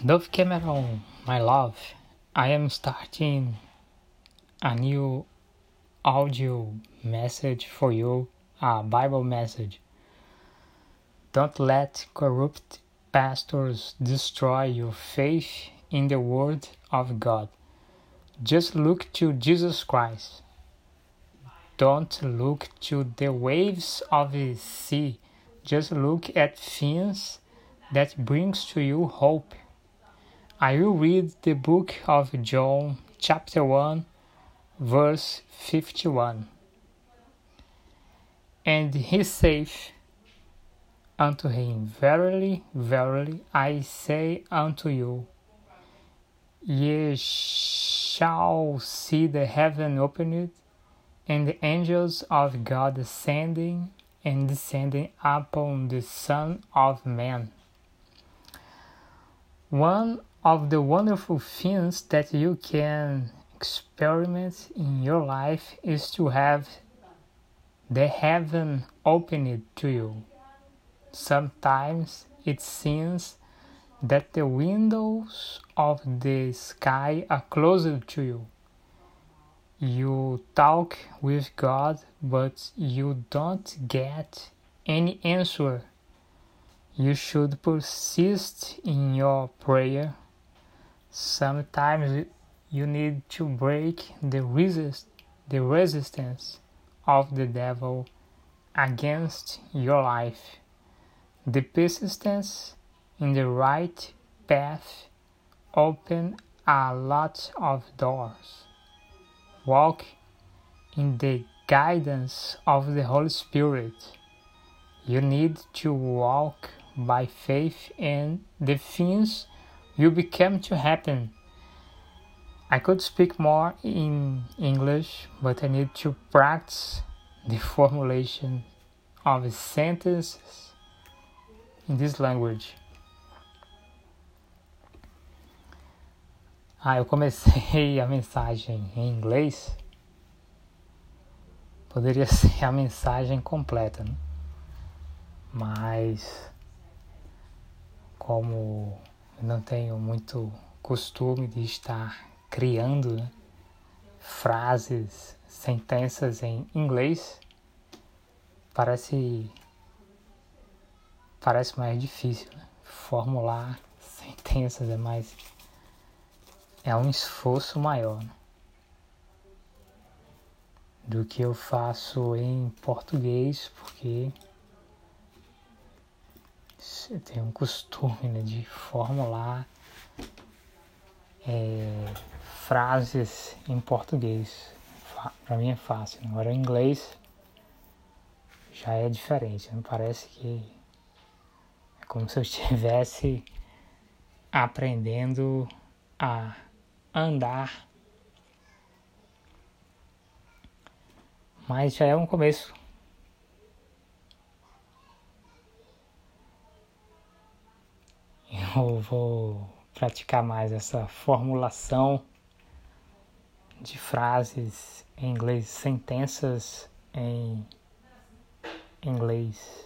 Dove Cameron, my love, I am starting a new audio message for you, a Bible message. Don't let corrupt pastors destroy your faith in the Word of God. Just look to Jesus Christ. Don't look to the waves of the sea. Just look at things that brings to you hope. I will read the book of John, chapter 1, verse 51. And he saith unto him, Verily, verily, I say unto you, ye shall see the heaven opened, and the angels of God ascending and descending upon the Son of Man. One of the wonderful things that you can experiment in your life is to have the heaven opened to you. Sometimes it seems that the windows of the sky are closed to you. You talk with God, but you don't get any answer. You should persist in your prayer. Sometimes you need to break the resistance of the devil against your life. The persistence in the right path open a lot of doors. Walk in the guidance of the Holy Spirit. You need to walk by faith, and the things will become to happen. I could speak more in English, but I need to practice the formulation of sentences in this language. Eu comecei a mensagem em inglês. Poderia ser a mensagem completa, né? Mas como eu não tenho muito costume de estar criando, né, frases, sentenças em inglês, parece mais difícil, né? Formular sentenças é um esforço maior, né, do que eu faço em português, porque eu tenho um costume, né, de formular frases em português. Para mim é fácil. Agora em inglês já é diferente. Não parece que é como se eu estivesse aprendendo a andar. Mas já é um começo. Eu vou praticar mais essa formulação de frases em inglês, sentenças em inglês.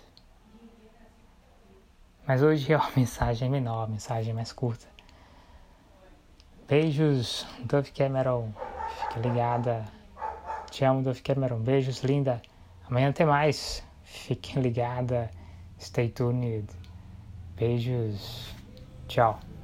Mas hoje é uma mensagem menor, uma mensagem mais curta. Beijos, Dove Cameron. Fique ligada. Te amo, Dove Cameron. Beijos, linda. Amanhã tem mais. Fique ligada. Stay tuned. Beijos. Tchau.